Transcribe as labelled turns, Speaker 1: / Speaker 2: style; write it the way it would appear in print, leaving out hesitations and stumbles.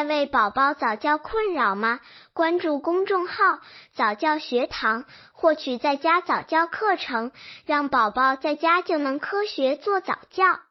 Speaker 1: 在为宝宝早教困扰吗？关注公众号早教学堂，获取在家早教课程，让宝宝在家就能科学做早教。